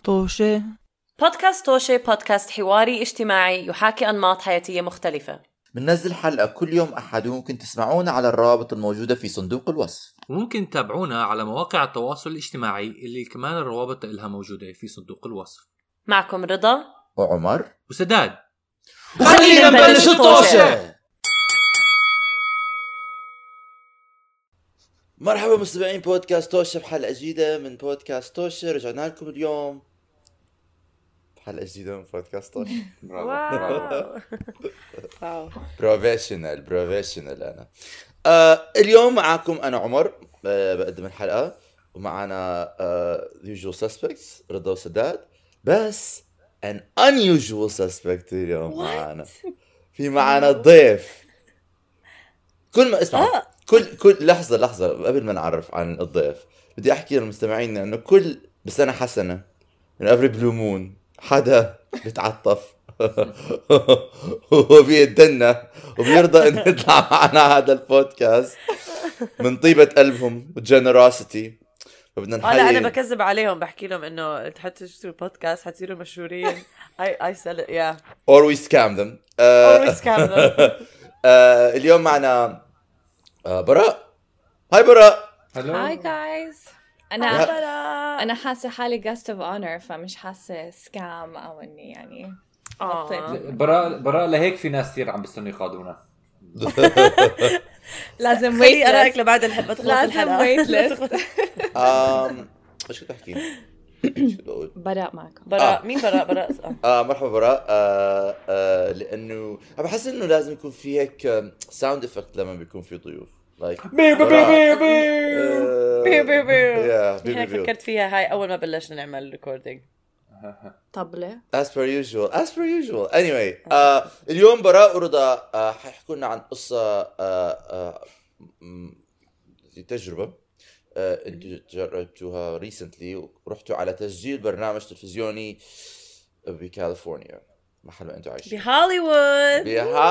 طوشة. بودكاست طوشة بودكاست حواري اجتماعي يحاكي أنماط حياتية مختلفة. بننزل حلقة كل يوم أحد، وممكن تسمعونا على الروابط الموجودة في صندوق الوصف. وممكن تتابعونا على مواقع التواصل الاجتماعي اللي كمان الروابط لها موجودة في صندوق الوصف. معكم رضا وعمر وسداد. خلينا نبلش الطوشة. مرحبا مستمعين بودكاست توشة بحلقة جديدة من بودكاست توشة. رجعنا لكم اليوم بحلقة جديدة من بودكاست توشة. واو بروفيشنال أنا. اليوم معاكم أنا عمر، بقدم الحلقة، ومعنا usual suspects رضا وسداد، بس an unusual suspect اليوم. معنا ضيف. كل ما اسمع كل لحظة قبل ما نعرف عن الضيف بدي أحكي للمستمعين إنه كل بسنة حسنة من every blue moon حدا بيتعطف وبيدنا وبيرضى إنه يطلع معنا هذا البودكاست من طيبة قلبهم وجنرosity. فبدنا نحيي. أنا بكذب عليهم، بحكي لهم إنه حتى تشتروا بودكاست حتصيروا مشهورين. I sell it, yeah. Or we scam them. اليوم معنا براء. هاي براء. هاي جايز. أنا حاسة حالي guest of honor، فمش حاسة سكام أو إني يعني براء لهيك في ناس كثير عم بيستنوا يقادونا. لازم خلي أراك لبعد الحلقة تخلص الحلقة. ويت ليست. ايش كنت احكي؟ براء معكم. مين براء؟ مرحبا براء. لانه انا بحس انه لازم يكون في هيك ساوند افكت لما بيكون في ضيوف، لايك بي بي بي بي بي. أنا فكرت فيها هاي أول ما بلشنا نعمل ريكوردينج. طبلة as per usual. anyway اليوم براء ورضا حيحكوا لنا عن قصة تجربة انتوا جربتوها recently، ورحتوا على تسجيل برنامج تلفزيوني بكاليفورنيا، محل ما انتوا عايشين. بهوليوود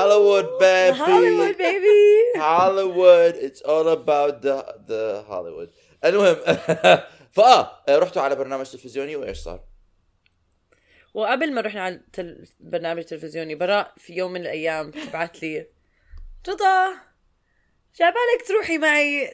baby. Hollywood, it's all about the Hollywood. المهم رحتوا على برنامج تلفزيوني، وايش صار؟ وقبل ما رحنا على برنامج تلفزيوني، براء في يوم من الأيام بعت لي رضا جابالك تروحي معي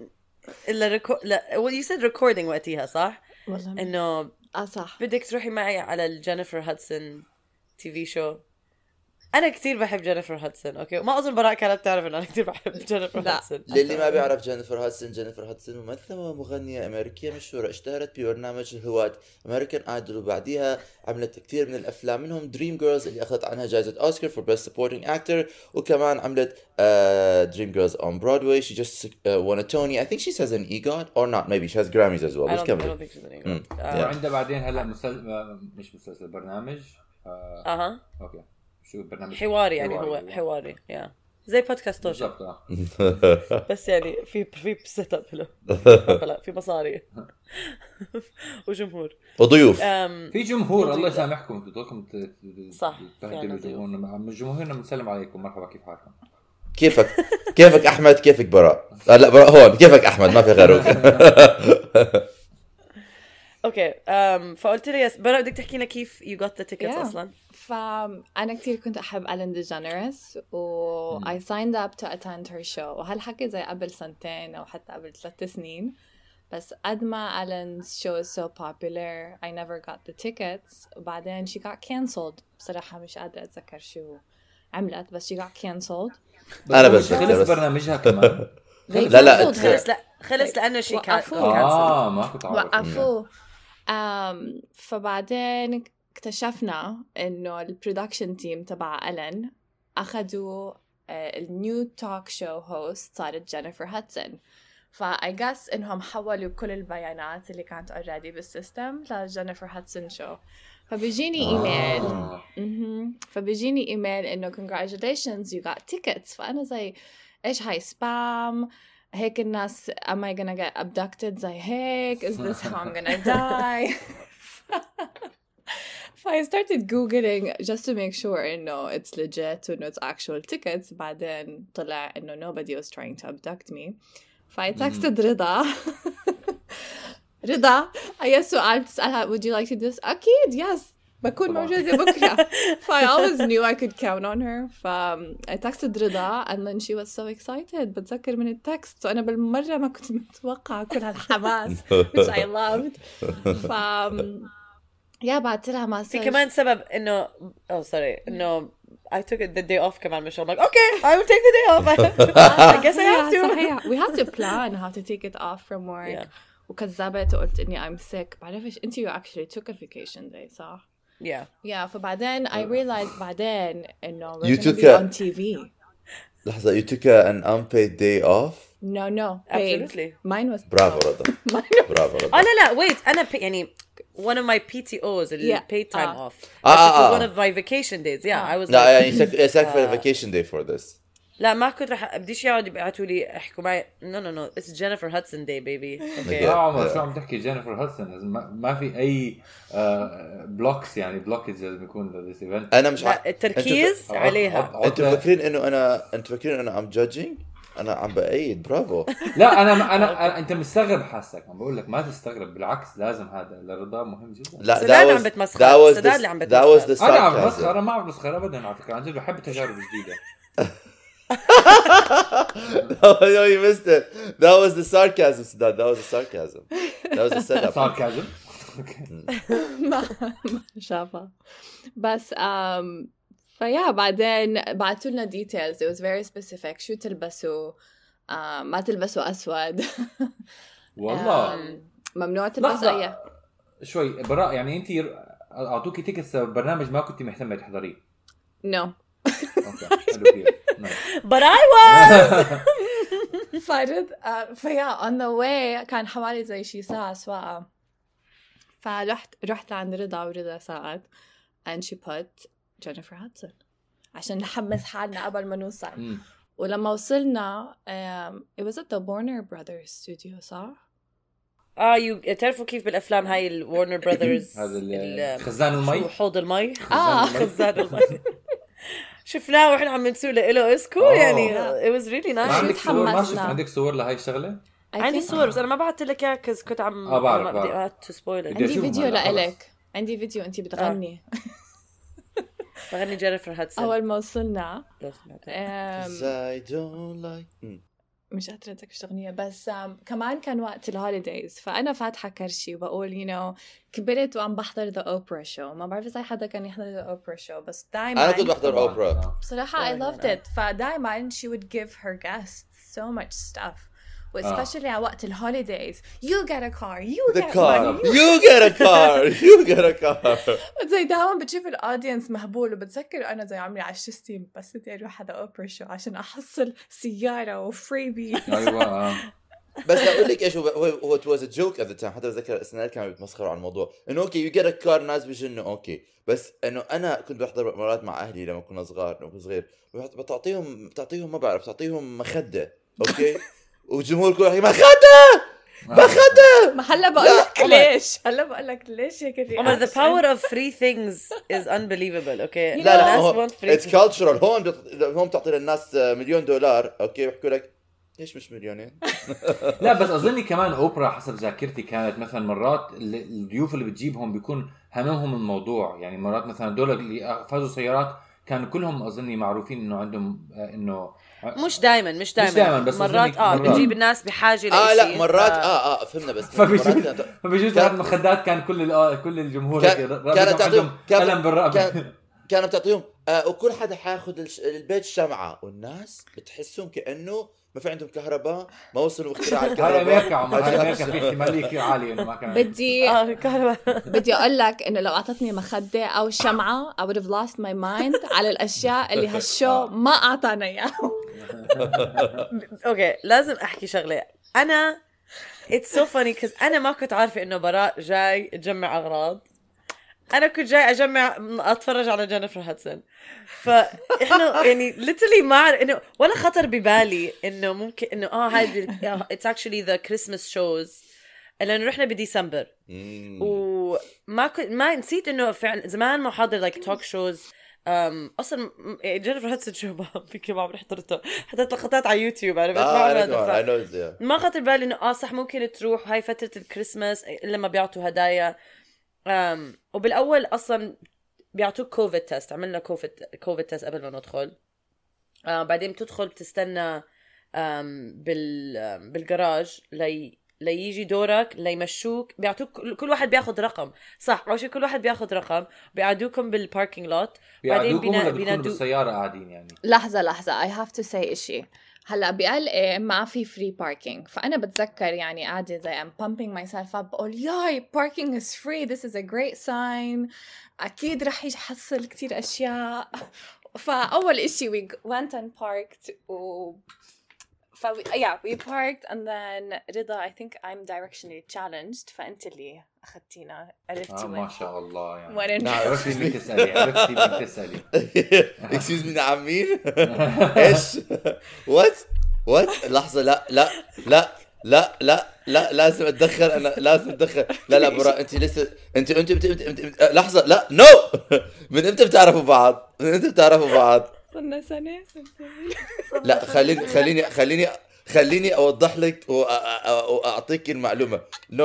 you said recording وقتها صح؟ والله إنه صح، بدك تروحي معي على الجينيفر هادسون تي في شو. أنا كتير بحب جينيفر هادسون. أوكي، ما أظن براء كانت تعرف إن أنا كتير بحب جينيفر هادسون. للي ما بيعرف جينيفر هادسون ممثلة ومغنية أمريكية مشهورة، اشتهرت ببرنامج الهواة أمريكان آيدول، وبعديها عملت كثير من الأفلام، منهم دريم جيرلز اللي أخذت عنها جائزة أوسكار for Best Supporting Actor، وكمان عملت دريم جيرلز on Broadway. She just won a Tony. I think she has an EGOT or not, maybe she has Grammys as well. I don't think she's an EGOT. وعندها بعدين هلا مش مسلسل برنامج اوكي، شو برنامج حواري يعني هو حواري زي بودكاست توشة بس يعني في سيت اب له في مصاري وجمهور وضيوف. في جمهور. الله يسامحكم، انتوا ضلكم صح تبهدلوا جمهورنا. بنسلم عليكم، مرحبا، كيف حالكم؟ كيفك أحمد؟ كيفك براء؟ لا براء هون. كيفك أحمد؟ ما في غيره. اوكي. فقلت لي براء بدك تحكي لنا كيف you got the tickets اصلا. فأنا كتير كنت أحب ألين ديجينيرس و I signed up to attend her show، وهالحكي زي قبل 2 أو حتى قبل 3 سنين. بس قد ما Ellen's show is so popular I never got the tickets. وبعدين she got cancelled. بصراحة مش قادرة أتذكر شو عملت، بس she got cancelled. أنا بس خلص برنامجها كمان. لا خلص لأنه شي ما كنت عارف. وقفوه. فبعدين اكتشفنا إنه البرودكشن تيم تبع ألين أخذوا النيو توك شو هوست صارت جينيفر هادسون. فاي جاس إنهم حولوا كل البيانات اللي كانت already بالسيستم لجينيفر هادسون شو. فبيجيني إيميل إنه congratulations you got tickets. فأنا زي إيش هاي سبام؟ هيك الناس am I gonna get abducted زي هيك؟ Is this how I'm gonna die? I started googling just to make sure إنه it's legit وإنه it's actual tickets. بعدين طلع إنه nobody was trying to abduct me. I texted رضا رضا أي سؤال بتسألها would you like to do this أكيد yes بكون موجودة بكرة. I always knew I could count on her. I texted رضا and then she was so excited. بتذكر من التكست وأنا بالمرة ما كنت متوقعة كل هالحماس which I loved. يا بعت لها مسج. في كمان سبب إنه إنه I took the day off كمان مش I'm like okay I will take the day off. I guess I have to. صحيح. We have to plan how to take it off from work. وكذبت وقلت إني I'm sick. بعرفش أنت you actually took a vacation day صح؟ Yeah. فبعدين I realized بعدين إنه we're gonna be on TV. لحظة you took an unpaid day off? No. Absolutely. Mine was. برافو رضا. برافو رضا. لا wait أنا يعني one of my PTOs اللي paid time off. It was one of my vacation days. I was. لا يعني sacrificed a vacation day for this. لا ما كنت رح بديش يقعد يبعتوا لي يحكوا معي no it's Jennifer Hudson day baby. Okay. عمر شو عم تحكي جينيفر هودسون ما في أي بلوكس يعني بلوكج لازم يكون للإيفنت. أنا مش التركيز عليها. أنتوا فاكرين إنه I'm judging؟ أنا عم بأيد برافو. لا أنا أنت مستغرب حاسك عم بقول لك ما تستغرب بالعكس لازم هذا الرضا مهم جدا. لا سداد عم بتمسخر. سداد اللي عم بتمسخر. أنا عم بمسخر أنا ما عم بمسخر أبدا على فكرة عن جد بحب التجارب الجديدة. No, you missed it. That was the sarcasm, Siddharth. That was the sarcasm. That was the setup. Sarcasm. ما شافها بس فيا بعدين بعتوا لنا details. It was very specific. شو تلبسوا ما تلبسوا أسود. والله ممنوع تلبس أي شوي براء يعني أنتي أعطوكي تيكتس برنامج ما كنتي مهتمة تحضريه. No. But I was. فارد فيا on the way كان حوالي زي شي ساعة سواقة. رحت لعند رضا ورضا ساعد and she put Jennifer Hudson عشان نحمس حالنا قبل ما نوصل. ولما وصلنا it was at the Warner Brothers studio صح؟ تعرفوا كيف بالأفلام هاي الورنر براذرز هذا خزان المي حوض المي خزان المي شفناه واحنا عم نسوق له اسكو يعني it was really nice. عندك صور لهاي الشغلة؟ عندي صور بس انا ما بعثت لك اياها كنت عم بعرف to spoil it. عندي فيديو لإلك. عندي فيديو انتي بتغني بغني جينيفر هادسون اول ما وصلنا. I don't like مش قادرة أتذكر شو أغنية بس كمان كان وقت الهوليديز فأنا فاتحة كرشي وبقول كبرت وعم بحضر The Oprah Show. ما بعرف إذا حدا كان يحضر The Oprah Show بس دايما أنا كنت بحضر أوبرا بصراحة I loved it. فدايما she would give her guests so much stuff especially على وقت الهوليديز. You get a car, you get money, you get a car, you get a car. زي دائما بتشوف الأودينس مهبول. وبتذكر أنا زي عمري 10 سنين بس بدي أروح هذا أوبرا شو عشان أحصل سيارة وفريبي. أيوة. بس أقول لك إيش هو it was a joke at the time. حتى بتذكر السنة كانوا بيتمسخروا على الموضوع إنه أوكي you get a car ناس بيجنوا أوكي. بس إنه أنا كنت بحضر مرات مع أهلي لما كنا صغير بتعطيهم ما بعرف تعطيهم مخدة أوكي. وجمهور كله مخدة ما هلا بقول لك ليش هيك عمر the power of free things is unbelievable. اوكي لا it's cultural. هون تعطي للناس $1,000,000 اوكي بيحكوا لك ليش مش مليونين. لا بس اظني كمان اوبرا حسب ذاكرتي كانت مثلا مرات الضيوف اللي بتجيبهم بيكون هممهم الموضوع. يعني مرات مثلا دول اللي فازوا سيارات كانوا كلهم اظني معروفين انه عندهم انه مش دائما بس مرات بتجيب الناس بحاجه لشيء لا مرات فهمنا بس فبيجوز هذه المخدات كان كل الجمهور كانت تعطيهم ألم بالرقبة. كانت تعطيهم وكل حدا حياخد البيت شمعة والناس بتحسهم كأنه ما في عندهم كهرباء ما وصلوا اختراع الكهرباء. هاي أمريكا عمر هاي أمريكا في احتمالية عالية إنه ما كان بدي أقول لك إنه لو أعطتني مخدة أو شمعة I would have lost my mind على الأشياء اللي هالشو ما أعطانا إياها. اوكي لازم احكي شغله. انا it's so funny because انا ما كنت عارفه انه براء جاي تجمع اغراض. انا كنت جاي اتفرج على جينيفر هادسون. فاحنا يعني literally ما انه ولا خطر ببالي انه ممكن انه هاي it's actually the Christmas shows لانه رحنا بديسمبر وما ما نسيت انه فعلا زمان ما حاضر like talk shows اصلا جينيفر هاتسون شو ما عم حضرته، حضرت لقطات على يوتيوب عرفت ما خطر بالي انه صح ممكن تروح هاي فتره الكريسماس الا ما بيعطوا هدايا. وبالاول اصلا بيعطوك كوفيد تيست، عملنا كوفيد تيست قبل ما ندخل. بعدين بتدخل بتستنى بالجراج ليجي دورك ليمشوك، بيعطوك كل واحد بياخد رقم صح، أول شيء كل واحد بياخد رقم، بيقعدوكم بالباركينج لوت، بعدين بينادوا بالسيارة قاعدين يعني. لحظة I have to say إشي. هلا بقلقي ما في فري باركينج، فأنا بتذكر يعني قاعدة زي I'm pumping myself up بقول ياي parking is free, this is a great sign، أكيد رح يحصل كتير أشياء. فأول إشي we went and parked we parked and then رضا I think I'm directionally challenged، فأنت اللي أخذتينا عرفتي ما شاء الله يعني وين عرفتي مين تسألي excuse me نعم مين ايش what لحظة لا لازم اتدخل انا لا برا انت لسه انت لحظة لا نو من امتى بتعرفوا بعض صرنا سنة لا خليني اوضح لك واعطيك المعلومه.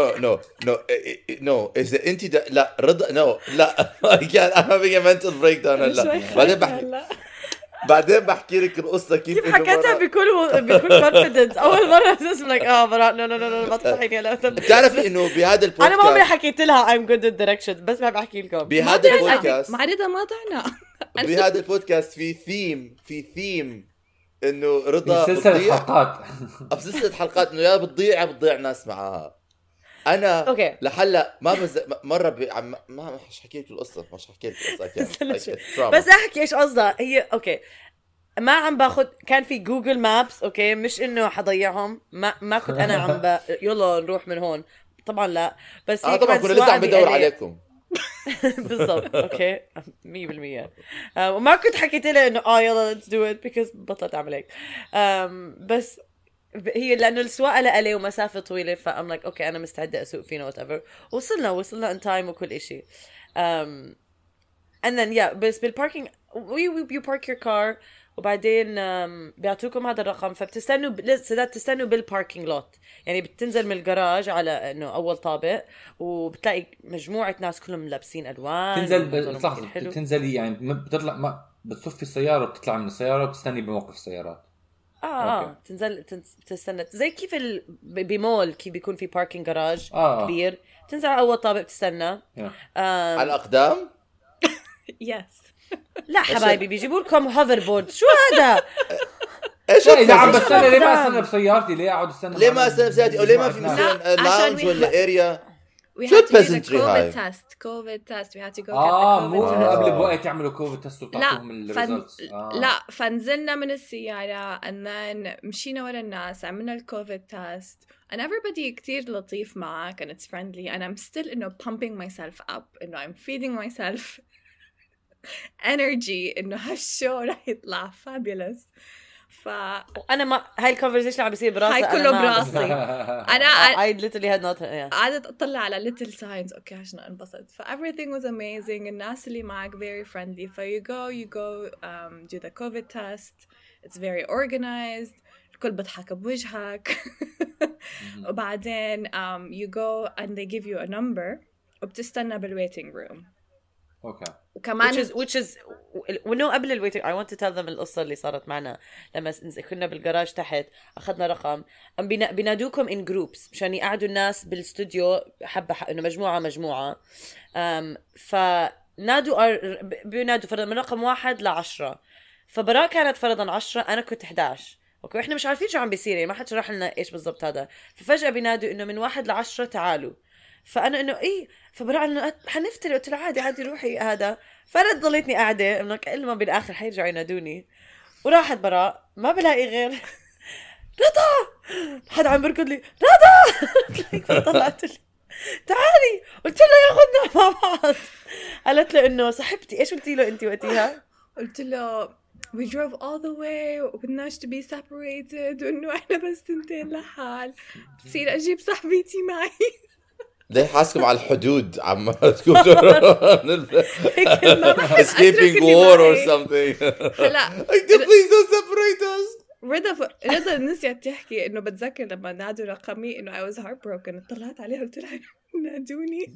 نو اذا انت لا رضا لا I'm having a mental breakdown. لا بعدين بحكي لك القصه كيف حكيتها بكل كونفيدنس. اول مره اسمك براء نو ما تضحكي. لا بتعرفي انه بهذا البودكاست انا ما عمري حكيت لها I'm good at directions، بس ما بحكي لكم بهذا البودكاست مع رضا ما ضعنا بهذا البودكاست في ثيم انه رضا سلسلة حلقات انه يا بتضيع ناس معاها. انا أوكي. لحلا ما مره ما حكي لك القصه بس احكي ايش قصدها هي. اوكي ما عم باخد، كان في جوجل مابس اوكي، مش انه حضيعهم، ما كنت انا عم يلا نروح من هون طبعا لا، بس طبعا كنا لسه عم بدور عليكم بالضبط اوكي 100%. وما كنت حكيت لها انه يلا let's do it because بطلت اعمل هيك. بس هي لانه السواقه لإلي ومسافه طويله فام لايك اوكي انا مستعده اسوق فينا whatever. وصلنا ان تايم وكل إشي. and then بس بالباركينج you park your car وبعدين بيعطوكم هذا الرقم، فبتستنوا تستنوا بالباركينج لوت، يعني بتنزل من الجراج على انه اول طابق وبتلاقي مجموعه ناس كلهم لابسين الوان. تنزلي يعني بتطلع ما بتصفي السياره وبتطلع من السياره وبتستني بموقف السيارات. تنزل تستنى زي كيف بمول كيف بيكون في باركينج جراج كبير، تنزل على اول طابق تستنى على الاقدام. يس لا حبايبي بيجيبوا لكم هوفر بورد. شو هذا؟ ايش اذا عم بستنى ليه ما استنى بسيارتي؟ ليه اقعد استنى؟ ليه ما استنى بسيارتي؟ او ليه ما في مثلا لاونج ولا اريا؟ We had to do the COVID test. We had to go get the COVID مو test. قبل بوقت يعملوا كوفيد تست وطلعوهم الريزلتس. لا فنزلنا من السيارة and then مشينا ورا الناس عملنا الكوفيد تست and everybody كتير لطيف معك and it's friendly and I'm still pumping myself up I'm feeding myself energy هالشو رح يطلع fabulous. انا ما هاي الكونفرسيشن عم بيصير براسي، هاي كله براسي. انا I literally had not قعدت اطلع على little signs اوكي عشان انبسط. everything was amazing. الناس اللي معك very friendly. you go do the COVID test. It's very organized. الكل بضحك بوجهك. وبعدين you go and they give you a number وبتستنى بالwaiting room. اوكي. وكمان which is ونو قبل الويتنج I want to tell them القصة اللي صارت معنا لما كنا بالجراج تحت أخذنا رقم بينادوكم in groups مشان يقعدوا الناس بالاستوديو حبة إنه مجموعة فنادوا بينادوا فرضا من رقم 1 ل10. فبراء كانت فرضا 10 أنا كنت 11 أوكي. إحنا مش عارفين شو عم بيصير يعني ما حد شرح لنا إيش بالضبط هذا. ففجأة بينادوا إنه من 1 ل10 تعالوا. فأنا إنه إيه فبراء إنه حنفترق. قلت له عادي روحي هذا. فأنا ضليتني قاعدة إنه كل ما بالآخر حيرجعوا ينادوني. وراحت براء ما بلاقي غير رضا. حد عم بركض لي رضا. طلعت لي تعالي. قلت له ياخذنا مع بعض. قالت له إنه صاحبتي. إيش قلتي له أنت وقتها؟ قلت له we drove all the way وبدناش to be separated وإنه إحنا بس 2 لحال. بصير أجيب صاحبتي معي. ليه حاسكم على الحدود عم تكونوا escaping war or something. هلا Please don't separate us. رضا نسيت تحكي انه بتذكر لما نادوا رقمي انه I was heartbroken. طلعت عليها قلت لها نادوني.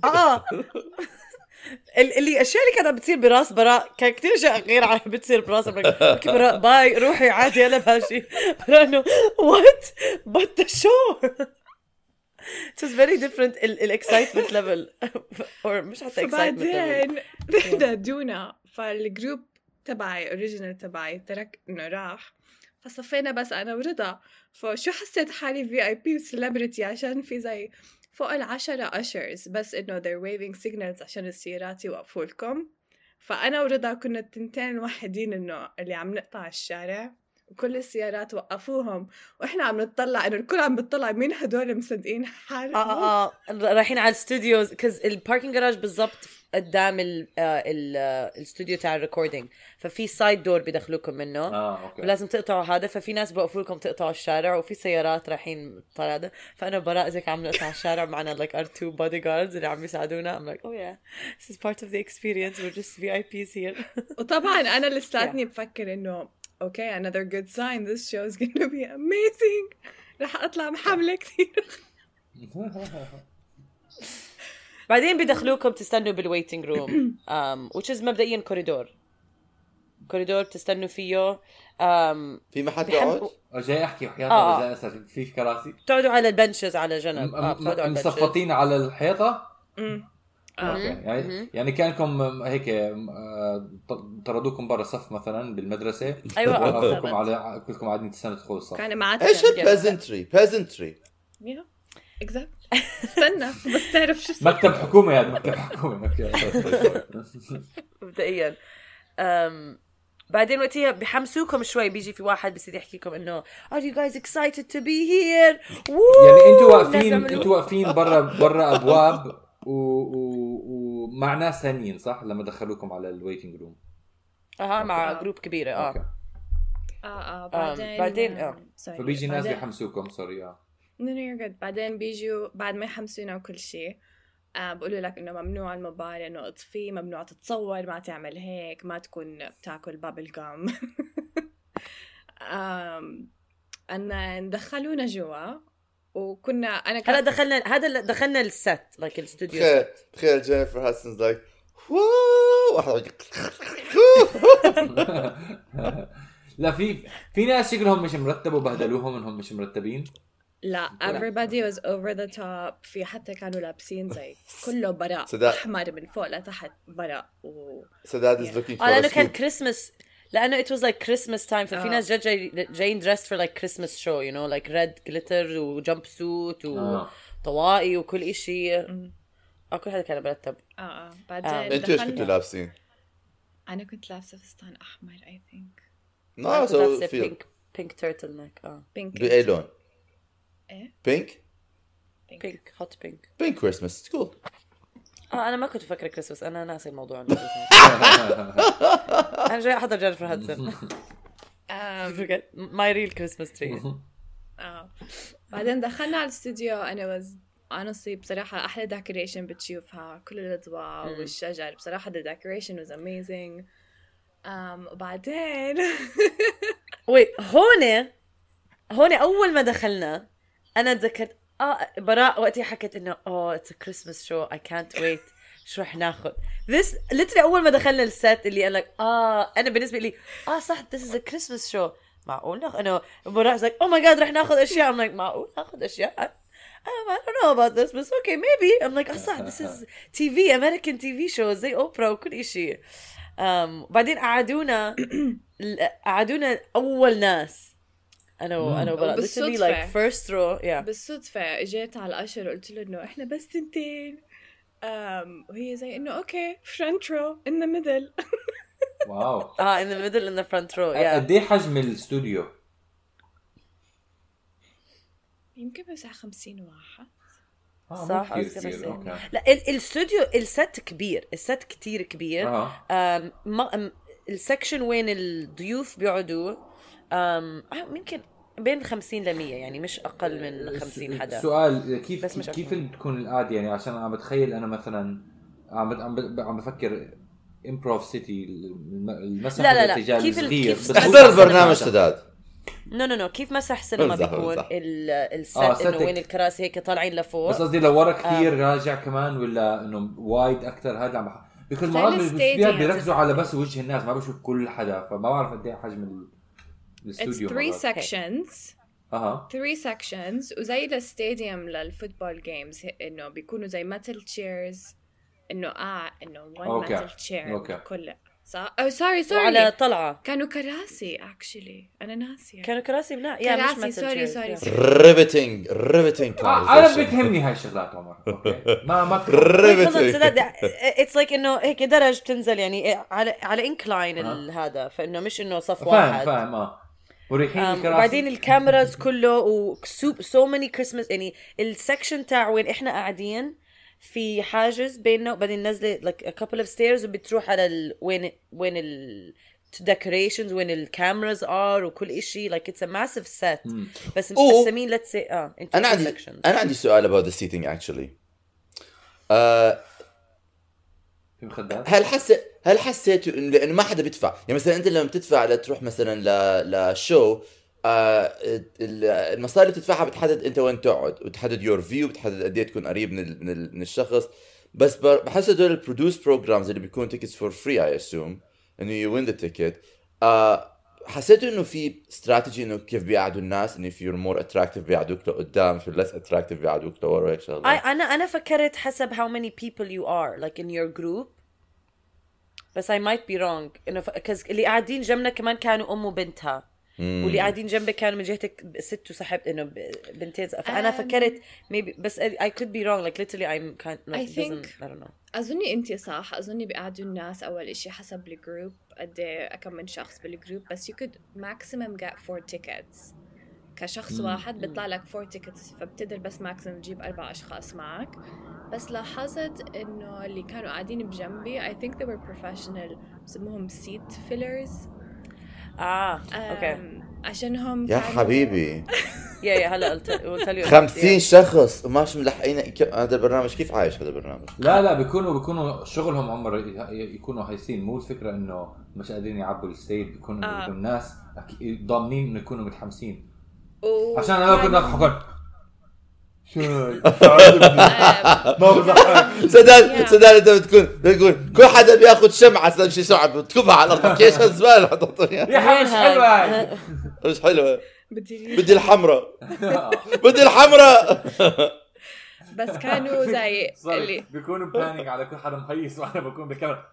اللي الاشياء اللي كانت بتصير براس براء كان كتير اشياء غير عن بتصير براس اوكي براء باي روحي عادي انا ماشي. انه what but the show it was very different الاكسايتمنت ليفل or مش حتى اكسايتمنت بعدين نادونا فالجروب تبعي اوريجينال تبعي ترك انه راح فصفينا بس انا ورضا. فشو حسيت حالي VIP وسليبرتي عشان في زي فوق 10 أشرز بس إنه they're waving signals عشان السيارات يوقفوا لكم. فأنا ورضا كنا التنتين وحيدين إنه اللي عم نقطع الشارع وكل السيارات وقفوهم وإحنا عم نطلع إنه الكل عم بتطلع مين هدول مصدقين حالهم. رايحين على الاستوديوز كز الباركينج جراج بالضبط قدام الاستوديو تاع الريكوردينج ففي سايد دور بيدخلوكم منه أوكي. ولازم تقطعوا هذا ففي ناس بوقفوا لكم تقطعوا الشارع وفي سيارات رايحين طالع هذا. فانا براء زيك عم نقطع الشارع معنا like our 2 bodyguards اللي عم يساعدونا. I'm like oh yeah this is part of the experience we're just VIPs here. وطبعا انا لساتني بفكر انه okay another good sign this show is going to be amazing. رح اطلع محملة كثير. بعدين بيدخلوكم تستنوا بالويتنج روم which is مبدئيا كوريدور تستنوا فيه. في محل تقعد جاي احكي وحياتي اذا اسف في كراسي تقعدوا على البنشز على جنب مصفطين على الحيطه. اوكي يعني كانكم هيك طردوكم برا صف مثلا بالمدرسه. ايوه وقفوكم على كلكم قاعدين تستنوا تدخلوا الصف. كان معك ايش peasantry اكزاكت. استنى بس تعرف شو مكتب حكومه يعني مكتب حكومه مبدئيا. بعدين وقتها بحمسوكم شوي بيجي في واحد بيصير يحكي لكم انه are you guys excited to be here يعني انتوا واقفين برا ابواب ومع ناس ثانيين صح لما دخلوكم على الويتنج روم. مع جروب كبيره بعدين فبيجي ناس بيحمسوكم سوري No, you're good. بعدين بيجوا بعد ما يحمسونا وكل شيء بقولوا لك إنه ممنوع الموبايل إنه اطفيه ممنوع تتصور ما تعمل هيك ما تكون بتاكل بابل جام. أن دخلونا جوا وكنا أنا هلا دخلنا الست like الاستوديو. تخيل جينيفر هاتسونز like لا في ناس شكلهم مش مرتب وبهدلوهم انهم مش مرتبين. لا everybody was over the top. في حتى كانوا لابسين زي كله براء أحمر من فوق لتحت براء So that is looking for لأنه كان كريسمس لأنه it was like Christmas time ففي ناس جايين dressed for like Christmas show you know like red glitter و jump suit وطواقي وكل إشي. كل هذا كان مرتب. بعدين انتوا ايش كنتوا لابسين؟ أنا كنت لابسة فستان أحمر I think. No so pink turtleneck. pink. بأي لون؟ إيه؟ pink hot pink. pink Christmas it's cool. أنا ما كنت فكرة كريسمس أنا ناسي الموضوع. أنا جاي أحضر جينيفر هاتسون. my real Christmas tree. بعدين دخلنا على الاستوديو أنا honestly بصراحة أحلى decoration بتشوفها كل الأضواء والشجر بصراحة the decoration was amazing. وبعدين هون أول ما دخلنا أنا تذكرت براء وقتها حكت إنه it's a Christmas show I can't wait شو رح ناخد this literally أول ما دخلنا السات اللي قال لك أنا بالنسبة لي صح this is a Christmas show معقول أنا براء like oh my god رح ناخد أشياء I'm like معقول ناخد أشياء I don't know about this but okay maybe I'm like صح this is TV American TV shows زي أوبرا وكل إشي. بعدين قعدونا أول ناس أنا وبراء literally like first row بالصدفة اجيت على الأشر وقلت له إنه إحنا بس تنتين وهي زي إنه okay front row in the middle. واو in the middle in the front row قد إيه حجم الاستوديو؟ يمكن بس 50 واحد. صح لا الاستوديو الست كبير الست كتير كبير. السكشن وين الضيوف بيقعدوا يمكن بين 50 ل 100 يعني مش اقل من 50 حدا. السؤال بس مش كيف تكون القعده يعني عشان عم بتخيل انا مثلا عم بفكر امبروف سيتي المسرح الارتجالي الصغير احضر البرنامج سداد. نو كيف مسرح سينما بيكون الست انه وين الكراسي هيك طالعين لفوق. بس قصدي لو ورا كثير راجع كمان ولا انه وايد اكثر هذا عم بيكون مرات بيركزوا على بس وجه الناس ما بشوف كل حدا فما بعرف قد ايه حجم الاستوديو. It's 3 sections. 3 sections وزي الستاديوم للفوتبول جيمز انه بيكونوا زي metal chairs انه انه one metal chair كله صح. سوري على طلعه كانوا كراسي actually انا ناسيه كانوا كراسي لا يا مش سوري ريفتنج انا بتهمني هاي الشغلات عمر. اوكي ما ريفتنج اتس لايك انه هيك درج بتنزل يعني على انكلاين هذا فانه مش انه صف واحد فاهم وريحين الكراسي وبعدين الكاميراز كله وسو ماني كريسماس يعني السكشن تاع وين احنا قاعدين في حاجز بيننا وبعدين نزله like a couple of stairs وبتروح على وين ال decorations وين الكاميراز وكل إشي like it's a massive set بس مقسمين let's say أنا عندي سؤال about the seating actually. هل حسيتوا لأنه ما حدا بيدفع يعني مثلا أنت لما بتدفع لتروح مثلا لشو المصاري اللي تدفعها بتحدد انت وين تقعد وتحدد يور فيو بتحدد قد ايه تكون قريب من الشخص. بس بحس هدول البرودوس بروجرامز اللي بيكون تيكتس فور فري اي اسوم انه يو وين ذا تيكت. حسيتوا انه في استراتيجي انه كيف بيقعدوا الناس انه if you're more attractive بيقعدوك لقدام if you're less attractive بيقعدوك لورا هيك شغله. انا فكرت حسب how many people you are like in your group بس I might be wrong انه اللي قاعدين جنبنا كمان كانوا ام وبنتها واللي قاعدين جنبك كانوا من جهتك ست وصاحب انه بنتين فانا فكرت maybe بس I could be wrong like literally I'm kind of I think I don't know. اظني انت صح اظني بيقعدوا الناس اول اشي حسب الجروب قد ايه كم من شخص بالجروب بس you could maximum get 4 tickets كشخص واحد بيطلع لك 4 tickets فبتقدر بس maximum تجيب 4 اشخاص معك. بس لاحظت انه اللي كانوا قاعدين بجنبي I think they were professional بسموهم seat fillers. اوكي عشانهم يا حبيبي يا هلا قلت لي 50 شخص وماش ملحقين هذا البرنامج. كيف عايش هذا البرنامج؟ لا بيكونوا شغلهم عمر يكونوا هايسين مو الفكره انه مش قادرين يعبوا الستيج بيكونوا الناس ضامنين انه يكونوا متحمسين عشان انا كنت احكي ما بضحك سداد انت بتقول كل حدا بياخذ شمعه شيء شمعه بتكبها على الارض كيش الزباله يا حبيبي مش حلوه مش حلوه بدي الحمراء بدي الحمراء. بس كانوا زي اللي بيكونوا بلانينج على كل حدا مهيس وانا بكون بالكاميرا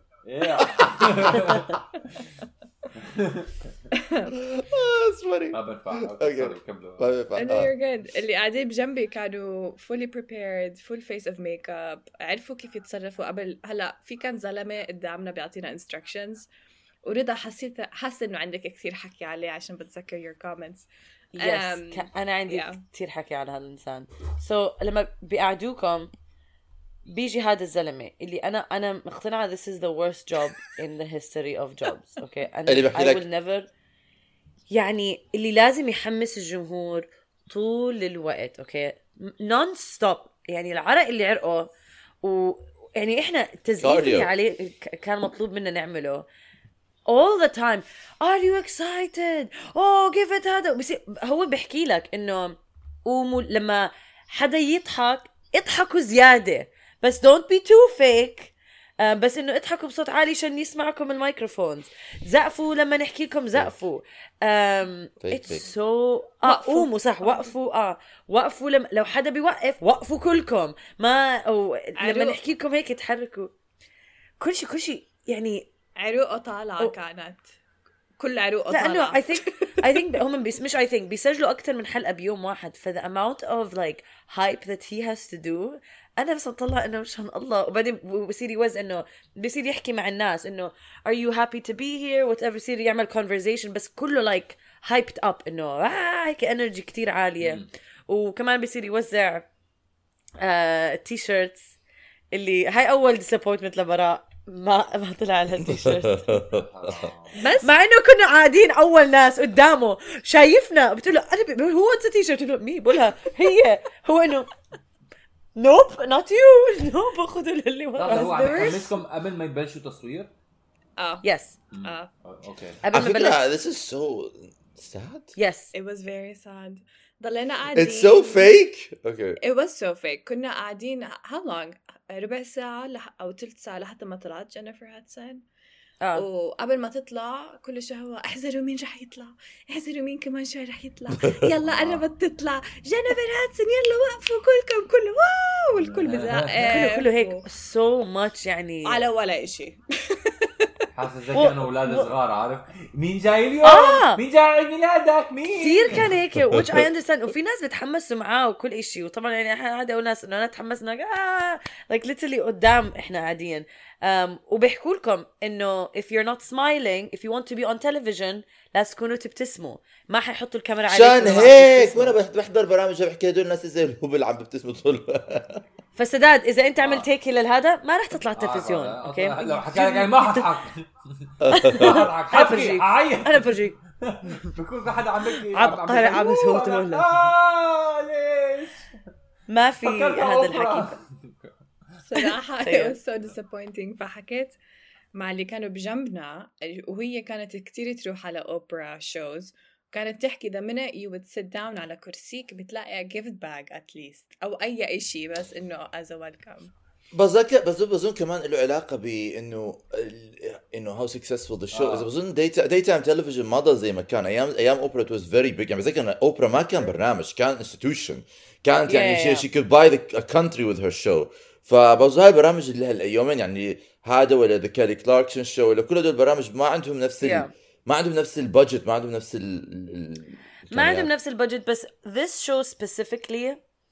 ما بنفع. you're good. اللي قاعدين بجنبي كانوا fully prepared full face of makeup عرفوا كيف يتصرفوا قبل. هلا في كان زلمة قدامنا بيعطينا instructions ورضا حاسة إنه عندك كثير حكي عليه عشان بتذكر your comments. أنا عندي كثير حكي على هذا الإنسان. لما بيقعدوكم بيجي هذا الزلمة اللي أنا مقتنعة this is the worst job in the history of jobs. okay أنا I will never يعني اللي لازم يحمس الجمهور طول الوقت okay non stop يعني العرق اللي عرقه ويعني إحنا التزييف اللي عليه كان مطلوب منا نعمله all the time. are you excited give it هذا هو بيحكي لك إنه لما حدا اضحكوا زيادة بس don't be too fake. بس انه اضحكوا بصوت عالي عشان يسمعكم الميكروفون. زقفوا لما نحكي لكم زقفوا. it's so قوموا صح وقفوا لو حدا بيوقف وقفوا كلكم ما لما نحكي لكم هيك تحركوا كل شيء يعني عروقه طالعة كانت كل عروقه طالعة. لأنه I think هم مش I think بيسجلوا أكتر من حلقة بيوم واحد for the amount of like hype that he has to do. أنا بس أطلع إنه مشان الله وبعدين بصير يوزع إنه بصير يحكي مع الناس إنه are you happy to be here whatever بصير يعمل conversation بس كله like hyped up إنه هيك energy كتير عالية. وكمان بصير يوزع t-shirts اللي هاي أول disappointment لبراء ما طلع لها التيشيرت بس مع انه كنا قاعدين اول ناس قدامه شايفنا بتقول له انا بقول هو انت تيشيرت بتقول له مين بقولها هي هو انه نوب نوت يو نوب خذوا اللي هو ورا عم يحمسكم قبل ما يبلشوا تصوير؟ يس اوكي قبل ما بلش على فكرة this is so sad. يس it was very sad. ضلينا قاعدين. It's so fake. Okay. It was so fake. كنا قاعدين how long ربع ساعة أو ثلث ساعة لحتى ما طلعت جينيفر هاتسون. وقبل ما تطلع كل شوي احذروا مين رح يطلع، احذروا مين كمان شوي رح يطلع، يلا قربت تطلع جينيفر هاتسون، يلا وقفوا كلكم كله واو والكل بزعق كله هيك so much يعني على ولا إشي. حاسس زي كانوا اولاد صغار عارف مين جاي اليوم مين جاي عيد ميلادك مين كثير كان هيك which I understand وفي ناس بتحمسوا معاه وكل إشي وطبعا يعني هذا وناس انه انا تحمسنا like literally قدام احنا قاعدين وبيحكوا لكم انه if you're not smiling if you want to be on television لازم تكونوا تبتسموا ما حيحطوا الكاميرا عليكم عشان هيك وانا بحضر برامج بحكي هدول الناس زي الهبل عم ببتسموا طول. فسداد اذا انت عملت هيك لهذا ما رح تطلع التلفزيون اوكي لو حكى لك يعني ما حضحك حبكي اعيط انا برجيك بكون حدا عم يحكي عبقري عم يصوت ولا ليش ما في هذا الحكي صراحة it was so disappointing. فحكيت مع اللي كانوا بجنبنا وهي كانت كتير تروح على أوبرا شوز كانت تحكي the minute you would sit down على كرسيك بتلاقي a gift bag at least أو أي إشي بس إنه as a welcome. بظن كمان له علاقة بإنه how successful the show is. بظن daytime television ما ضل زي ما كان أيام أوبرا it was very big. يعني زي كان أوبرا ما كان برنامج كان institution كانت يعني she could buy a country with her show. فبظن هاي البرامج اللي هالأيامين يعني هذا ولا the Kelly Clarkson show ولا كل هدول البرامج ما عندهم نفس ما عندهم نفس البادجت ما عندهم نفس ما عندهم نفس البادجت بس this show specifically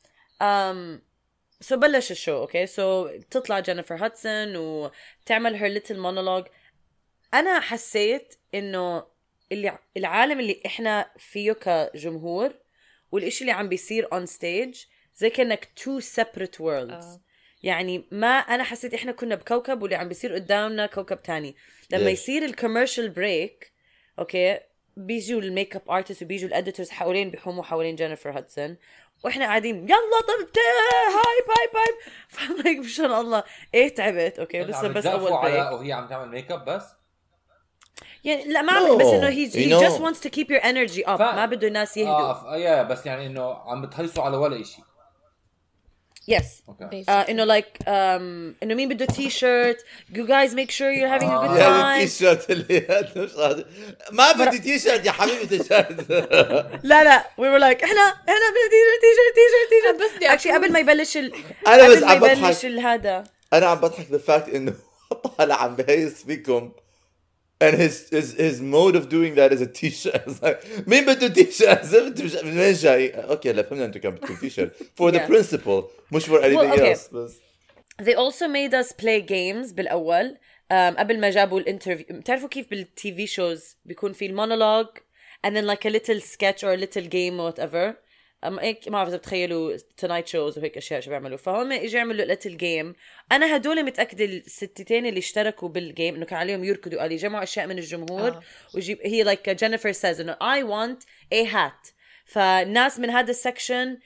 so بلش الشو اوكي so تطلع جينيفر هاتسون وتعمل her little monologue. انا حسيت انه العالم اللي احنا فيه كجمهور والاشي اللي عم بيصير on stage زي كأنك two separate worlds. يعني ما أنا حسيت إحنا كنا بكوكب واللي عم بيصير قدامنا كوكب تاني. لما يصير الكوميرشال بريك أوكي بيجوا الميك اب ارتست وبيجوا الاديتورز حوالين بيحوموا حوالين جينيفر هاتسون واحنا قاعدين يلا طب هايب فلايك بشان الله ايه تعبت اوكي لسه بس اول بريك وهي عم تعمل ميك اب بس يعني لا ما عم بس انه he just wants to keep your energy up ما بده الناس يهدوا بس يعني انه عم بتهيصوا على ولا شيء. Yes. Okay. إنه like إنه مين بده t-shirt. You guys make sure you're having a good time. t-shirt اللي ما بدي t-shirt يا حبيبي t-shirt. لا we were like إحنا بدنا t-shirt بس actually قبل ما يبلش أنا بس عم بضحك هذا أنا عم بضحك the fact إنه طالع عم بهيس فيكم and his mode of doing that is a t-shirt. مين بده t-shirt زبط من وين جاي اوكي لا فهمنا انتوا كان بدكم t-shirt for the principle مش for anything else بس. They also made us play games بالأول قبل ما جابوا الانترفيو. بتعرفوا كيف بالتي في شوز بيكون في المونولوج and then like a little sketch or a little game or whatever. هيك ما بعرف إذا بتخيلوا tonight shows وهيك أشياء شو بيعملوا. فهم إجوا يعملوا little game. أنا هدول متأكدة الستتين اللي اشتركوا بالجيم إنه كان عليهم يركضوا قال يجمعوا أشياء من الجمهور ويجيب هي like Jennifer says إنه I want a hat. فالناس من هذا السكشن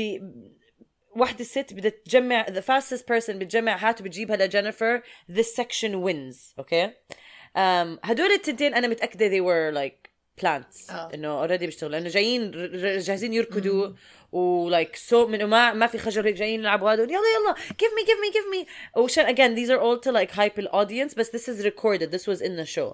واحدة الست بدها تجمع the fastest person بتجمع هات وبتجيبها لجينيفر this section wins. أوكي هدول التنتين أنا متأكدة they were like plants انه already بيشتغلوا لانه جايين جاهزين يركضوا ولايك سو من ما في خجل هيك جايين يلعبوا هذول يلا give me وشان again these are all to like hype the audience but this is recorded this was in the show.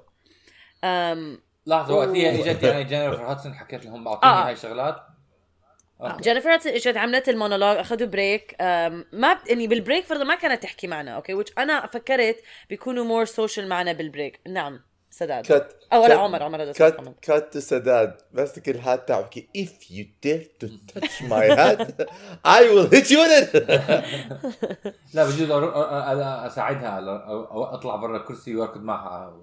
لحظه وقتها اجت يعني جينيفر هاتسون حكيت لهم اعطوني هاي الشغلات. جينيفر هاتسون اجت عملت المونولوج اخذوا بريك ما يعني بالبريك فرضا ما كانت تحكي معنا اوكي which انا فكرت بيكونوا more social معنا بالبريك. نعم سداد لا عمر هذا كات سداد بس كل هات تحكي if you dare to touch my hat I will hit you in it. لا بجوز اساعدها او اطلع برا الكرسي واركض معها.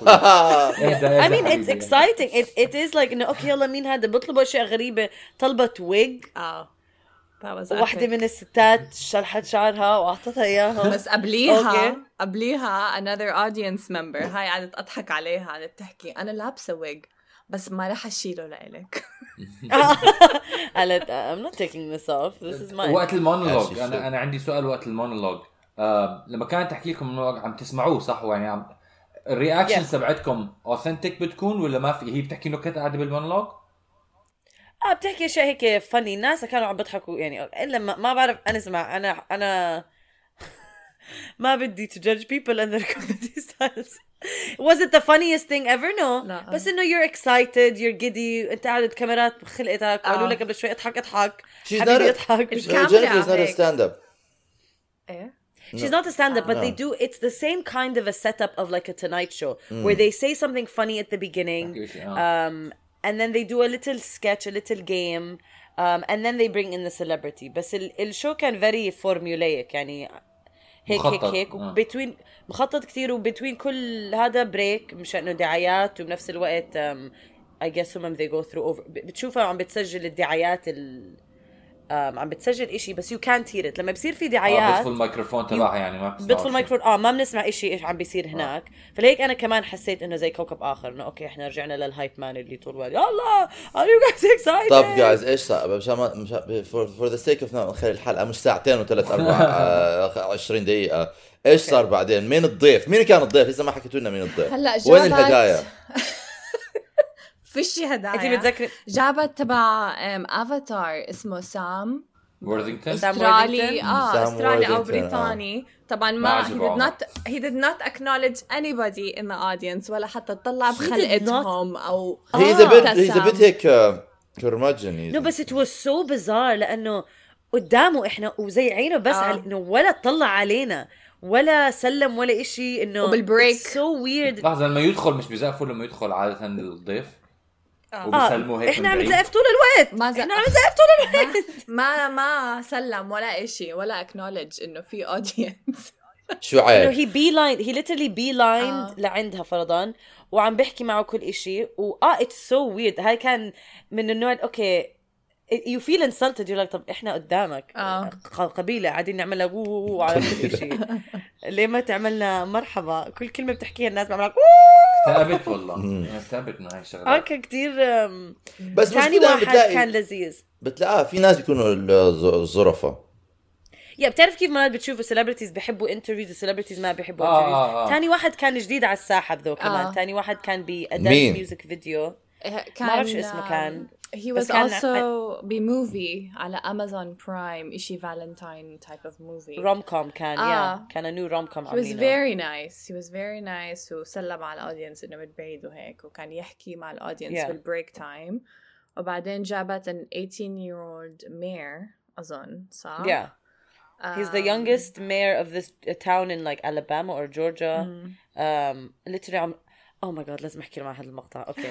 I mean it's exciting it is like انه اوكي يلا مين هذا بيطلبوا اشياء غريبه طلبت wig واحدة من الستات شلحت شعرها وأعطتها إياها. بس قبليها another audience member هاي قعدت أضحك عليها، قعدت تحكي أنا لابسة ويج بس ما رح أشيله لإلك. قالت I'm not taking this off, this is mine. وقت المونولوج أنا عندي سؤال. وقت المونولوج لما كانت تحكي لكم المونولوج عم تسمعوه صح؟ يعني عم الرياكشن تبعتكم authentic بتكون ولا ما في؟ هي بتحكي نكت قاعدة بالمونولوج؟ بتحكي اشياء هيك فني، الناس كانوا عم بيضحكوا يعني. الا ما بعرف، انا اسمع انا ما بدي to judge people and their comedy styles. Was it the funniest thing ever? No. لا. بس انه you're excited, you're giddy, انت قاعد الكاميرات بخلقتك قالوا لك قبل شوي اضحك حبيبي اضحك. Jennifer is not a stand-up. She's not a stand-up, but they do. It's the same kind of a setup of like a Tonight Show, where they say something funny at the beginning, and then they do a little sketch, a little game, and then they bring in the celebrity. بس الشو كان very formulaic يعني هيك وبتوين مخطط كتير، وبتوين كل هذا بريك مشان انه دعايات، وبنفس الوقت I guess هم they go through over بتشوفها عم بتسجل الدعايات عم بتسجل إشي بس you can't hear it. لما بصير في دعايات بيطفوا الميكروفون تبعها يعني ما بيطفوا الميكروفون ما بنسمع إشي إيش عم بيصير هناك. فلهيك أنا كمان حسيت إنه زي كوكب آخر، إنه أوكي إحنا رجعنا للهايب مان اللي طول الوقت يلا are you guys excited. طب guys إيش صار for the sake of نخلي الحلقة مش ساعتين وثلاث أربع 20 دقيقة. إيش صار بعدين؟ مين الضيف؟ مين كان الضيف؟ لسه ما حكيتوا لنا مين الضيف. هلا وين الهدايا؟ فيشي هدايا. أنت بتذكر جابت تبع افاتار اسمه سام وورثينغتون استرالي استرالي او بريطاني. طبعا ما he did not acknowledge anybody in the audience ولا حتى تطلع بخلقتهم او he's a bit هيك كرمجني. no بس it was so bizarre لأنه قدامه إحنا وزي عينه بس إنه ولا طلع علينا ولا سلم ولا إشي. إنه وبالبريك so weird. لحظة لما يدخل مش بيزقفوا لما يدخل عادة الضيف وبيسلموا هيك إحنا عم نزقف طول الوقت. إحنا عم نزقف طول الوقت. ما سلم ولا إشي ولا acknowledge إنه في audience. شو عيب؟ he literally beelined لعندها فرضاً وعم بحكي معه كل إشي it's so weird. هاي كان من النوع أوكي you feel insulted. you're like طب إحنا قدامك قبيلة قاعدين نعملها على كل شيء. ليه ما تعملنا مرحبا؟ كل كلمة بتحكيها الناس بعملك ثابت والله ثابت مع هاي الشغلات كتير. بس ثاني واحد كان لذيذ. بتلاقيها في ناس بيكونوا الظرفة. بتعرف كيف مرات بتشوفوا celebrities بيحبوا interviews وcelebrities ما بيحبوا interviews. ثاني واحد كان جديد على الساحة ذو كمان. ثاني واحد كان بأداة ميوزك فيديو ما أعرف شو اسمه كان. He was also بmovie على Amazon Prime إشي Valentine type of movie rom-com كان كان new rom-com. He was very nice وسلم على الأودينس إنه متبعيد وهيك وكان يحكي مع الأودينس بالبريك تايم. وبعدين جابت an 18-year-old mayor أظن صح؟ He's the youngest mayor of this town in like Alabama or Georgia. Literally oh my god لازم احكي مع هذا المقطع. اوكي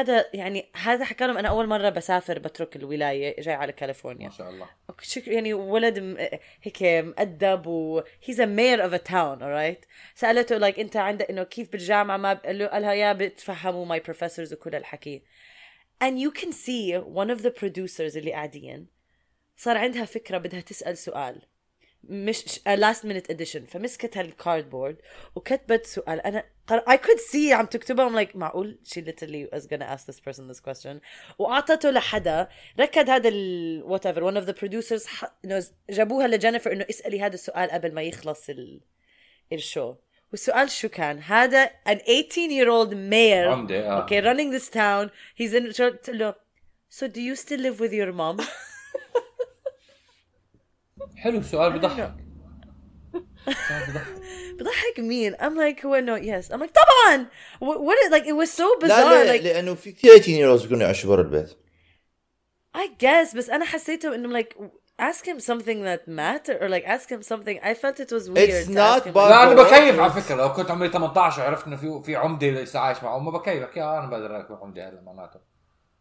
هذا حكى لهم انا اول مره بسافر بترك الولايه جاي على كاليفورنيا ما شاء الله. يعني ولد هيك مؤدب و he's a mayor of a town alright. سالته like انت عندك انه كيف بالجامعه ما قالها يا بتفهموا my professors وكل الحكي. and you can see one of the producers اللي قاعدين صار عندها فكره بدها تسال سؤال مش last minute edition. فمسكت هالكاردبورد وكتبت سؤال. أنا I could see عم تكتبها. I'm like معقول she literally was gonna ask this person this question. وأعطته لحدا ركض هذا whatever one of the producers جابوها لجينيفر إنه اسألي هذا السؤال قبل ما يخلص الشو. والسؤال شو كان؟ هذا an 18-year-old mayor okay running this town he's in له so do you still live with your mom. حلو سؤال بضحك. بضحك مين؟ I'm like هو no yes I'm like طبعا what like it was so bizarre. لا like لأنه في كثير 18-year-olds بيكونوا يعيشوا برا البيت. I guess بس أنا حسيته إنه like ask him something that matter or like ask him something. I felt it was weird. It's not لا أنا بكيف على فكرة. لو كنت عمري 18 وعرفت إنه في عمدة لسه عايش معه ما بكيف أنا بقدر أكون عمدة هلا معناته.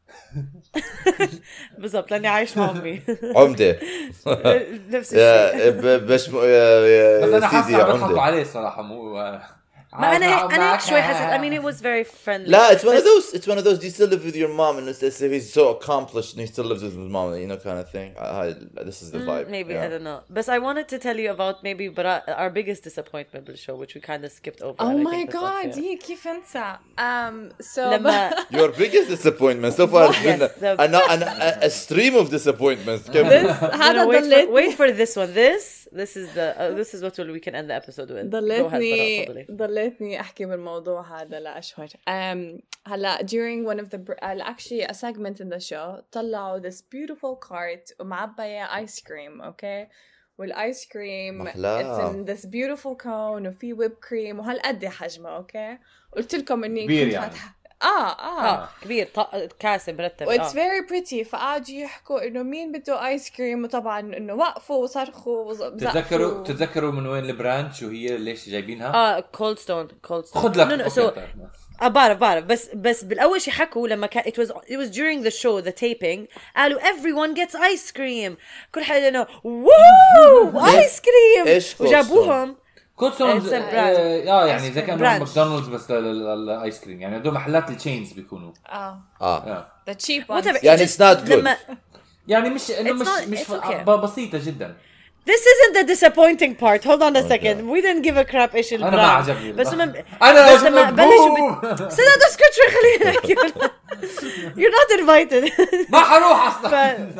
بالضبط لاني عايش مع امي عمده نفس الشيء. بس انا حاسس عم بضحكوا عليه الصراحه مو ما أنا شوي حسيت. I mean it was very friendly. لا it's one of those do you still live with your mom and he's so accomplished and he still lives with his mom, you know, kind of thing. This is the vibe. Maybe yeah. I don't know. But I wanted to tell you about maybe our biggest disappointment بالشو which we kind of skipped over. Oh my god, كيف انسى. So لما Your biggest disappointment so far has been Yes, a stream of disappointments. هذا ضليت wait for this one. This is what we can end the episode with. ضليتني احكي بالموضوع هذا لاشهر. هلا during one of the actually a segment in the show طلعوا this beautiful cart ومعبية ice cream, okay, والايس كريم it's in this beautiful cone وفي whipped cream وهالقد حجمه, okay. قلت لكم اني كنت فاتحة كبير كاسة مرتب. It's very pretty. فقعدوا يحكوا انه مين بده ايس كريم وطبعا انه وقفوا وصرخوا وزقفوا. تتذكروا من وين البراند شو هي ليش جايبينها؟ كولد ستون خد لك بعرف بس بالاول شي حكوا لما كان it was during the show the taping قالوا everyone gets ice cream كل حدا انه واو ايس كريم وجابوهم كولدستون يعني اذا كان ماكدونالدز بس للايس كريم يعني هدول محلات التشينز بيكونوا the cheap ones يعني it's not good يعني مش بسيطة جدا. This isn't the disappointing part. Hold on a second. We didn't give a crap إيش البراند. أنا ما عجبني. بس أنا بلشوا سنة اسكت شوي خلينا نحكي. You're not invited. ما حروح أصلاً.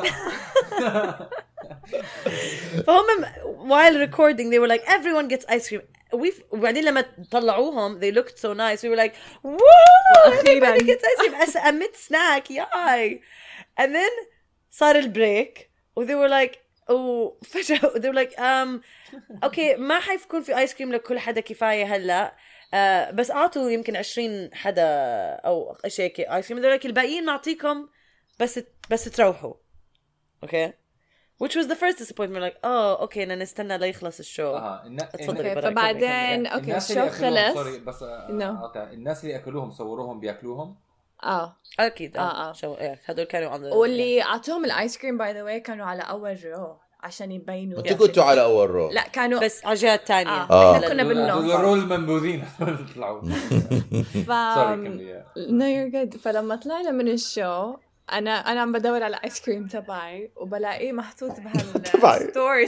فهم while recording they were like everyone gets ice cream. وبعدين لما طلعوهم they looked so nice. We were like whoa everybody gets ice cream as a mid snack. Yay. And then صار البريك و they were like فجأة they were like okay ما حيكون في آيس كريم لكل حدا كفاية هلا بس أعطوا يمكن 20 حدا أو شيء كي آيس كريم. they're like الباقيين نعطيكم بس تروحوا. okay which was the first disappointment like okay نستنى ليخلص الشو. فبعدين okay الشو خلص بس الناس اللي أكلوهم صوروهم بيأكلوهم اكيد شو هذول كانوا على واللي اعطوهم الايس كريم باي ذا واي كانوا على اول رو عشان يبينوا. انتوا كنتوا على اول رو؟ لا كانوا بس على الجهه الثانيه. احنا كنا بالنص الرول المنبوذين طلعوا. no you're good. فلما طلعنا من الشو انا عم بدور على ايس كريم تبعي وبلاقيه محطوط بهالستورج.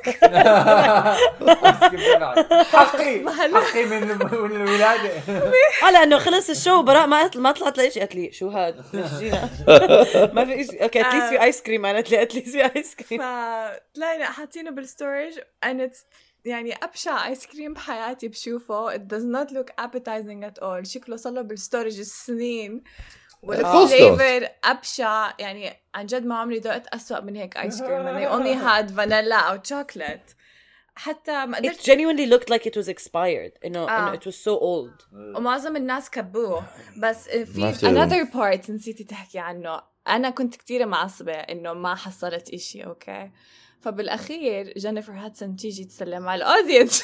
حقي من الولاده. لانه خلص الشو براء ما طلعت ليش قالت لي شو هاد جينا ما في شيء. اوكي اتليست في ايس كريم. قالت لي اتليست في ايس كريم. فطلعنا حاطينه بالستورج and it's يعني أبشع آيس كريم بحياتي بشوفه. it does not look appetizing at all. شكله صار بالستورج السنين والفليفر أبشع. يعني عن جد ما عمري ذقت أسوأ من هيك آيس كريم. and they only had vanilla أو chocolate. حتى ما قدرت. It genuinely looked like it was expired. إنه it was so old. ومعظم الناس كبوه. بس في another part نسيتي تحكي عنه. أنا كنت كتير معصبة إنه ما حصلت إشي. أوكي فبالأخير جينيفر هاتسون تيجي تسلم على الأودينس.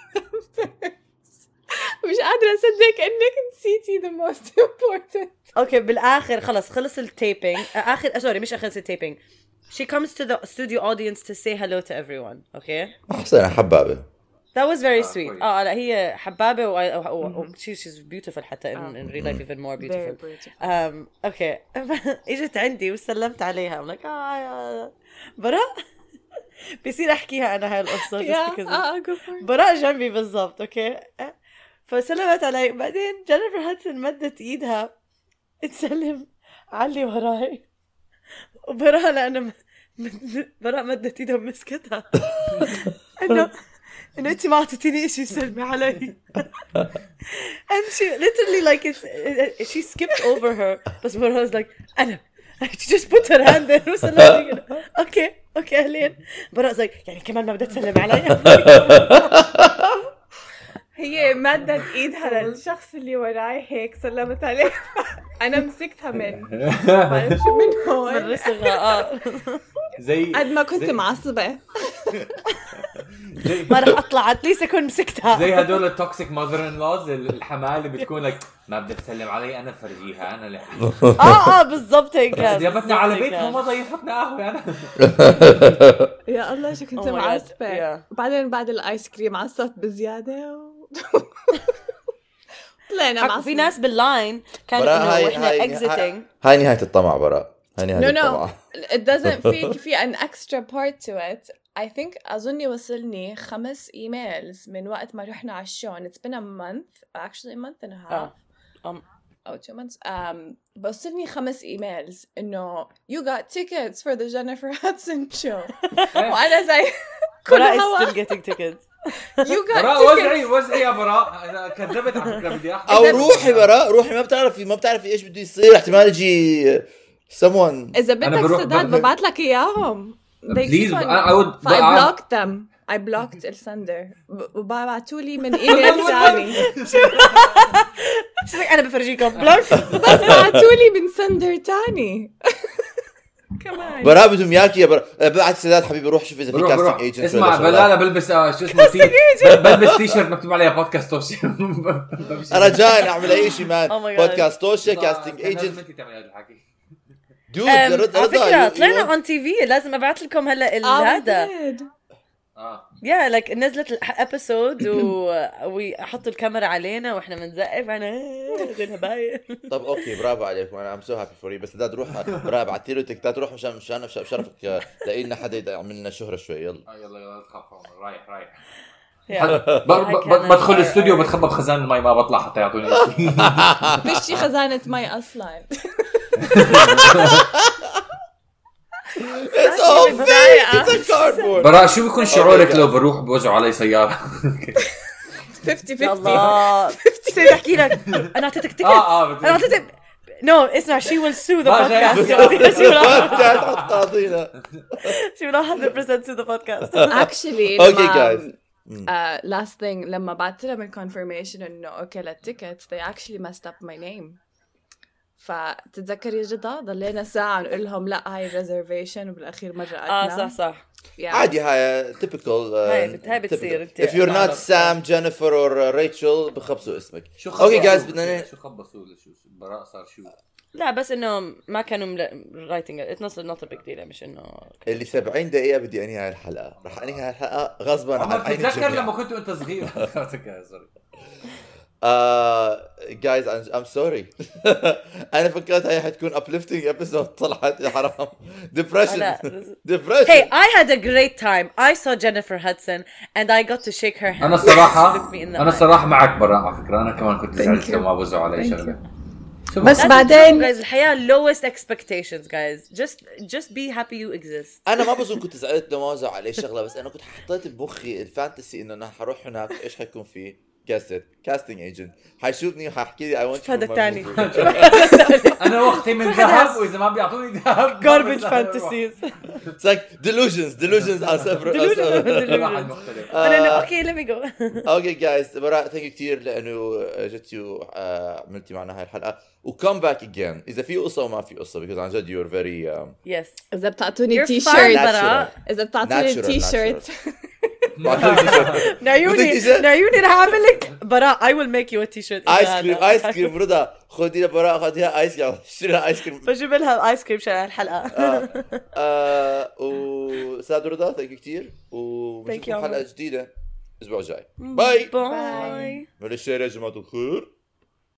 مش قادرة أصدق إنك نسيتي the most important. أوكي بالآخر خلص التيبينج. سوري مش آخر التيبينج. She comes to the studio audience to say hello to everyone. Okay. أحسن حبابة. That was very sweet. لا هي حبابة و she's beautiful حتى in real life even more beautiful. Very beautiful. Okay. إجت عندي وسلمت عليها. I'm like براء بصير أحكيها أنا هاي القصة. براء جنبي بالضبط. أوكي فسلمت علي. بعدين جينيفر هاتسون مدت إيدها تسلم علي وراي وبراء لأنه براء مدت إيدها ومسكتها إنه أنتي ما عطيتيني إشي سلمي علي. and she literally like she skipped over her. بس براء was like she just put her hand there وسلمت. اوكي أهلين. براء like يعني كمان ما بدها تسلم علي. هي مدت ايدها للشخص اللي وراي هيك سلمت عليه. انا مسكتها من معرفش من هون من رسغها. زي قد ما كنت معصبة ما رح اطلع اتليست اكون مسكتها. زي هدول التوكسيك ماذر ان لوز الحمال اللي بتكون لك ما بدها تسلم علي انا فرجيها انا اللي بالضبط هيك جابتنا على بيتها وما ضيفتنا قهوه انا. يا الله شو كنت معصبة. وبعدين بعد الايس كريم عصبت بزيادة طلعنا مع في ناس باللاين كانوا براء، انه واحنا exiting. هاي نهاية الطمع براء، هاي نهاية No, الطمع. it doesn't في an extra part to it. I think أظني وصلني 5 emails من وقت ما رحنا على الشو. It's been a month, actually a month and a half. أو 2 months. وصلني 5 emails إنه you got tickets for the Jennifer Hudson show. وأنا زي كل براء is هوا still getting tickets. you got براء tickets. وزعي يا براء. انا كذبت على فكره بدي احكي. او روحي براء، روحي، ما بتعرفي ايش بده يصير، احتمال يجي someone. إذا بدك بروح سداد ببعت لك إياهم. They Please, keep on- I would- I blocked them. I blocked السندر وبعتوا لي من ايميل ثاني. شو أنا بفرجيكم بلوك. بس بعتوا لي من سندر تاني. كمان براء بدهم ياكي يا براء. بعد سداد حبيبي روح شوف اذا في بروح كاستنج ايجنت. اسمع لا بلبس شو اسمه بلبس تي شيرت مكتوب عليها بودكاست توشي. رجاء اعمل اي شيء مان. Oh my God. بودكاست توشي، كاستنج ايجنت. انت تعمل هذا الحكي. دود على فكرة رضا طلعنا on TV. لازم أبعت لكم هلا هذا. يا لايك نزلت الابيسود وحطوا الكاميرا علينا واحنا بنزقف انا زي الهباية. طب اوكي برافو عليكم، انا ام سو هابي فور يو. بس سداد روح براء، ابعتي له تكتات، روح مشان شرفك لاقي لنا حدا يعمل لنا شهرة شوي. يلا يلا تخاف رايح كان بدخل الاستوديو بتخبى بخزان المي ما بطلع حتى يعطوني شيء. فيش شي خزانة مي اصلا. It's all fake. It's a cardboard. براء شو بيكون شعورك لو بروح بوزعوا علي سيارة؟ 50-50. الله بصير احكي لك انا اعطيتك تيكت. انا اعطيتك نو اسمع she will sue the podcast. she will 100% sue the podcast. Actually Okay guys. last thing لما بعت لهم الconfirmation انه اوكي للتيكت they actually messed up my name. فتتذكري جدا ضلينا ساعة نقول لهم لا هاي reservation وبالأخير مرة قلنا. صح عادي هاي typical. هاي بتصير. If you're not Sam, Jennifer or Rachel بخبصوا اسمك. اوكي جايز بدنا شو خبصوا شو براء صار شو؟ لا بس انه ما كانوا writing it not a big deal. مش انه اللي 70 دقيقة بدي انهي هاي الحلقة. رح انهي هاي الحلقة غصبا عن عين تتذكر الجميع. لما كنت انت صغير. guys I'm sorry. أنا فكرت هاي حتكون uplifting episode طلعت يا حرام. Depression. Hey, I had a great time. I saw Jennifer Hudson and I got to shake her hand. أنا الصراحة معك براء على فكرة. أنا كمان كنت زعلت لما وزعوا علي شغلة. بس بعدين guys الحياة lowest expectations guys. Just be happy you exist. أنا ما بظن كنت زعلت لما وزعوا علي شغلة، بس أنا كنت حطيت بمخي الفانتسي إنه أنا حروح هناك إيش حيكون فيه. كاستنج ايجنت حيشوفني وحيحكي لي I want you هذا الثاني. أنا وقتي من ذهب وإذا ما بيعطوني ذهب garbage fantasies. It's like delusions are separate. Okay let me go. Okay guys براء thank you كتير لأنه جيتي وعملتي معنا هاي الحلقة و come back again. إذا في قصة وما في قصة because عن جد you're very yes. إذا بتعطوني You're تي fine شيرت براء. إذا بتعطوني تي شيرت نعيوني رح أعمل لك براء I will make you a t-shirt. آيس كريم رضا خدي لها براء خديها آيس كريم اشتري لها آيس كريم. بجيب لها آيس كريم شغل الحلقة. وسعد رضا thank you كتير وبنشوفكم you. حلقة جديدة الأسبوع الجاي. باي باي. من الشارع يا جماعة الخير.